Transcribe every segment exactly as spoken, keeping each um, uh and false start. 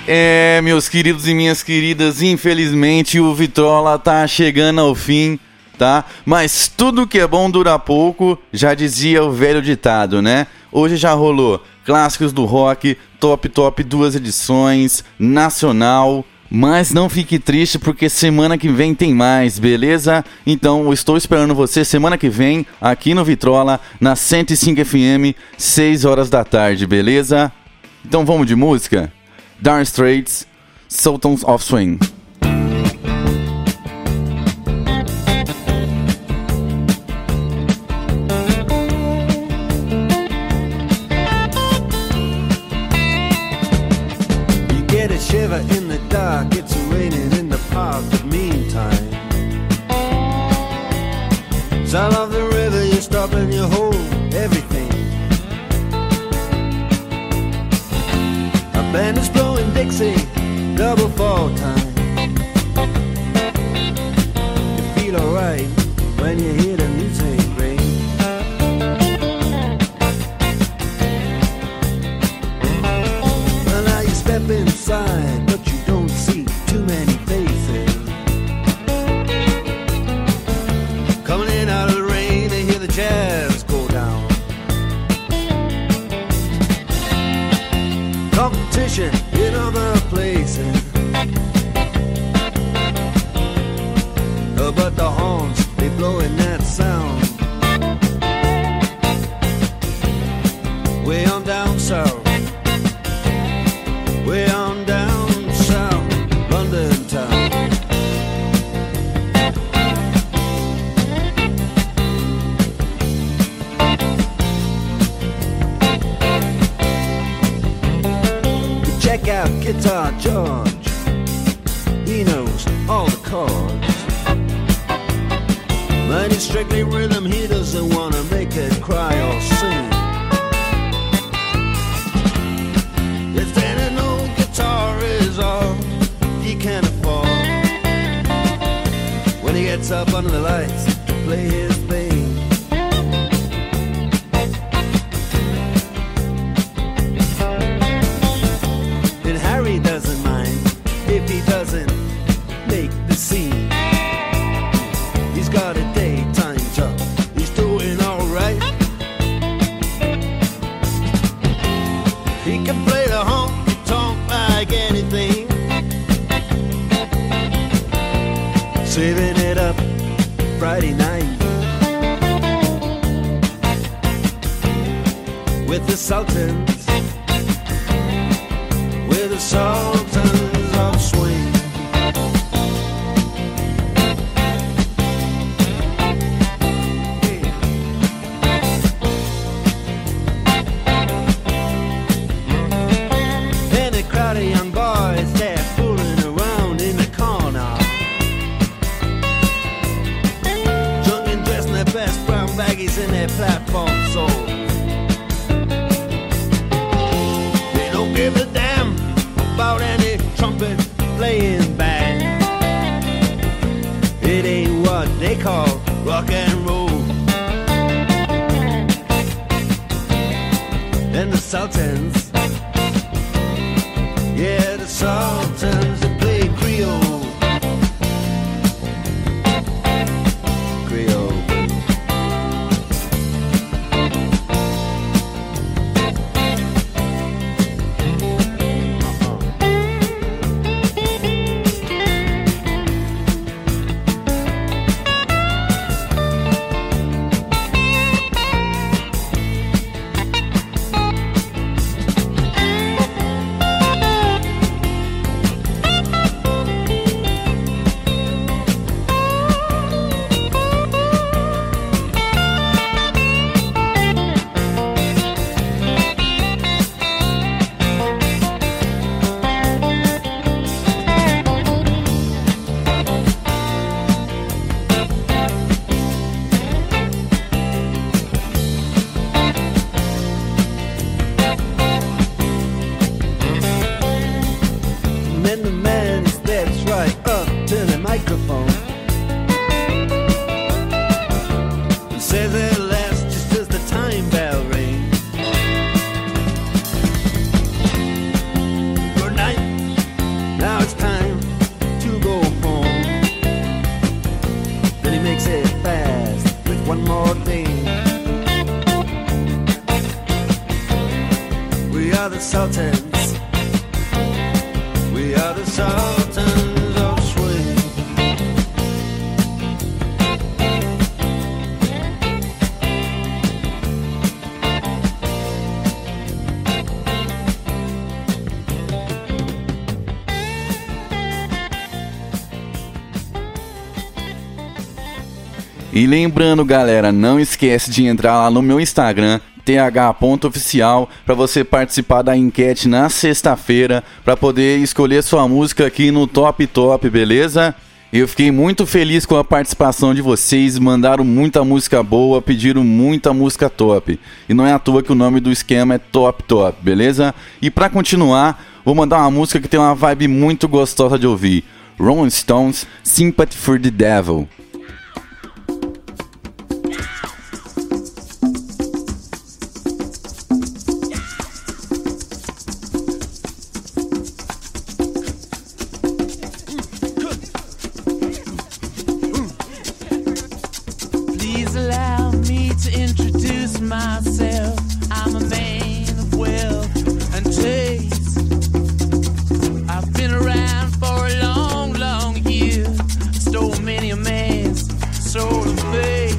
É, meus queridos e minhas queridas, infelizmente o Vitrola tá chegando ao fim, tá? Mas tudo que é bom dura pouco, já dizia o velho ditado, né? Hoje já rolou clássicos do rock, top top duas edições, nacional, mas não fique triste porque semana que vem tem mais, beleza? Então eu estou esperando você semana que vem aqui no Vitrola, na cento e cinco F M, seis horas da tarde, beleza? Então vamos de música? Dire Straits, Sultans of Swing. You get a shiver in the dark, it's raining in the park, but meantime sound of the river, you stop and you hold everything. A band is blowing Dixie, double fall time. You feel alright when you hear the music ring. Well, now you step inside, but you don't see too many faces. Coming in out of the rain, they hear the jazz go down. Competition in other places, uh, but the horns, they blowing that sound. Way on down south, way on down south, London town. Check out Guitar George, he knows all the chords. But it's strictly rhythm, he doesn't want to make it cry or sing. If then an old guitar is all he can afford, when he gets up under the lights to play his thing, Harry doesn't mind if he doesn't make the scene. He's got a daytime job, he's doing alright. He can play the honky-tonk like anything, saving it up Friday night with the Sultans, with the Sultans of Swing. And a crowd of young boys, they're fooling around in the corner, drunk and dressed in their best brown baggies and their platform soles. They don't give a damn about any trumpet playing band. It ain't what they call rock and roll. And the Sultans, yeah, the Sultans, they play Creole. Creole. the Sultans. We are the Sultans of Swing. E lembrando, galera, não esquece de entrar lá no meu Instagram, t h ponto oficial, para você participar da enquete na sexta-feira, para poder escolher sua música aqui no Top Top, beleza? Eu fiquei muito feliz com a participação de vocês, mandaram muita música boa, pediram muita música top. E não é à toa que o nome do esquema é Top Top, beleza? E para continuar, vou mandar uma música que tem uma vibe muito gostosa de ouvir. Rolling Stones, Sympathy for the Devil. Myself, I'm a man of wealth and taste. I've been around for a long, long year. Stole many a man's soul of faith.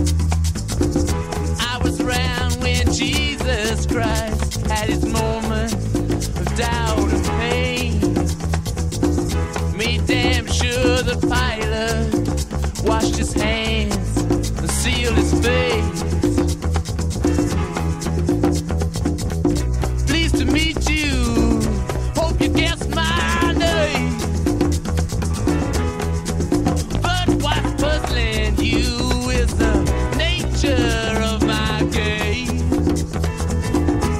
I was around when Jesus Christ had his moment of doubt and pain. Made damn sure the Pilate washed his hands and sealed his face. Meet you, hope you guess my name. But what's puzzling you is the nature of my game.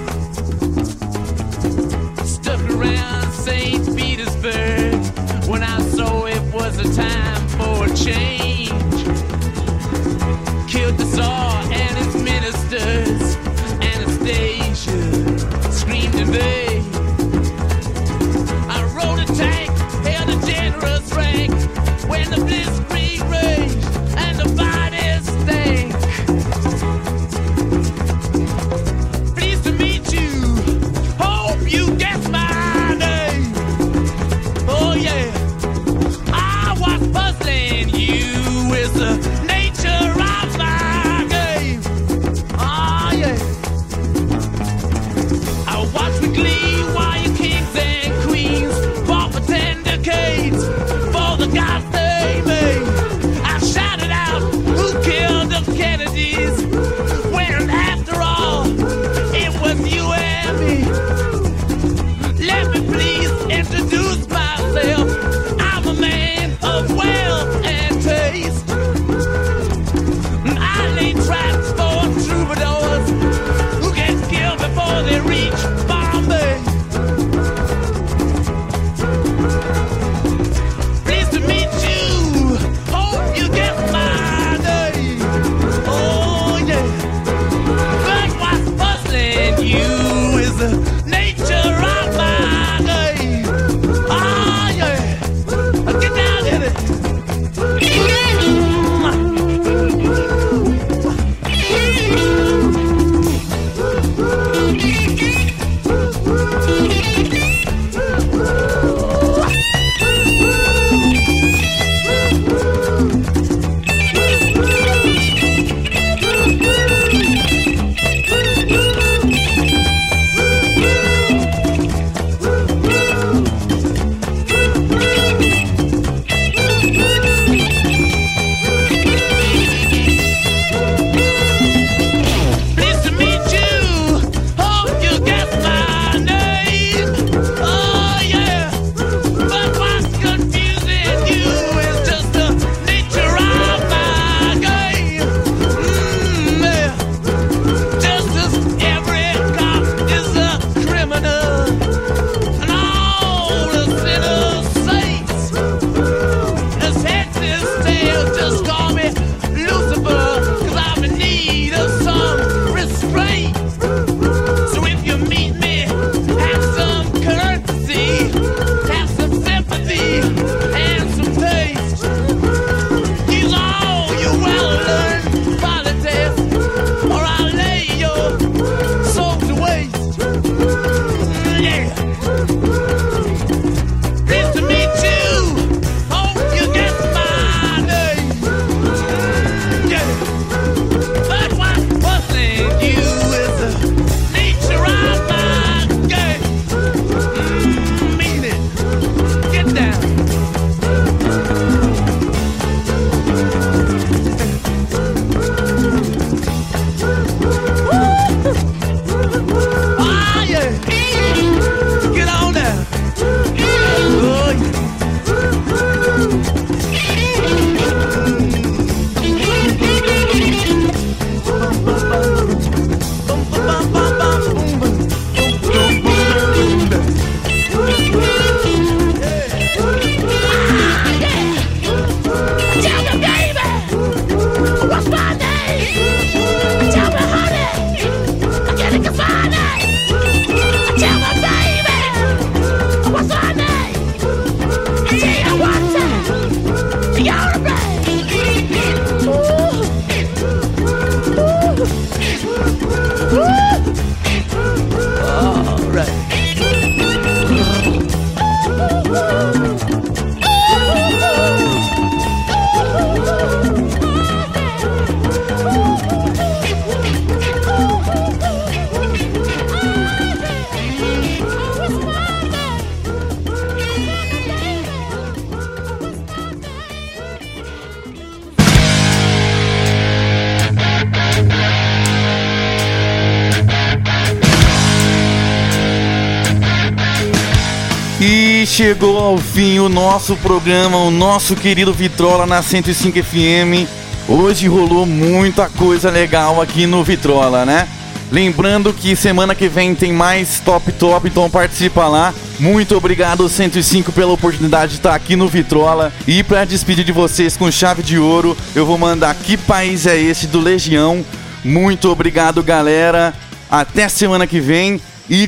E chegou ao fim o nosso programa, o nosso querido Vitrola na cento e cinco F M. Hoje rolou muita coisa legal aqui no Vitrola, né? Lembrando que semana que vem tem mais Top Top, então participa lá. Muito obrigado, cento e cinco, pela oportunidade de estar aqui no Vitrola. E pra despedir de vocês com chave de ouro, eu vou mandar Que País É Esse, do Legião. Muito obrigado, galera. Até semana que vem e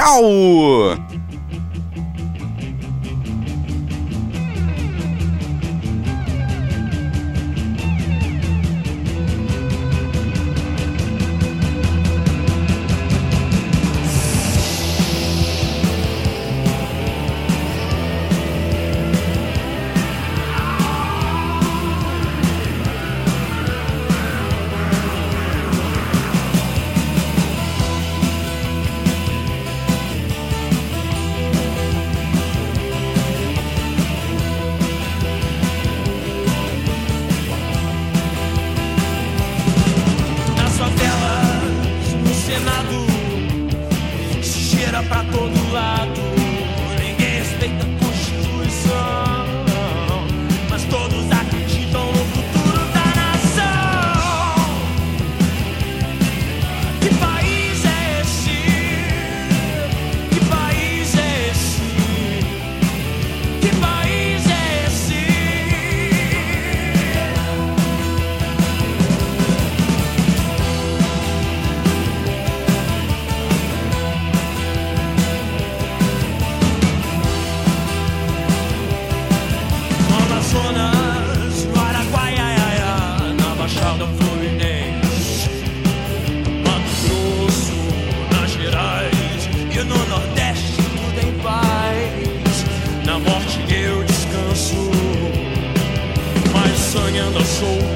tchau! Sonhando a solto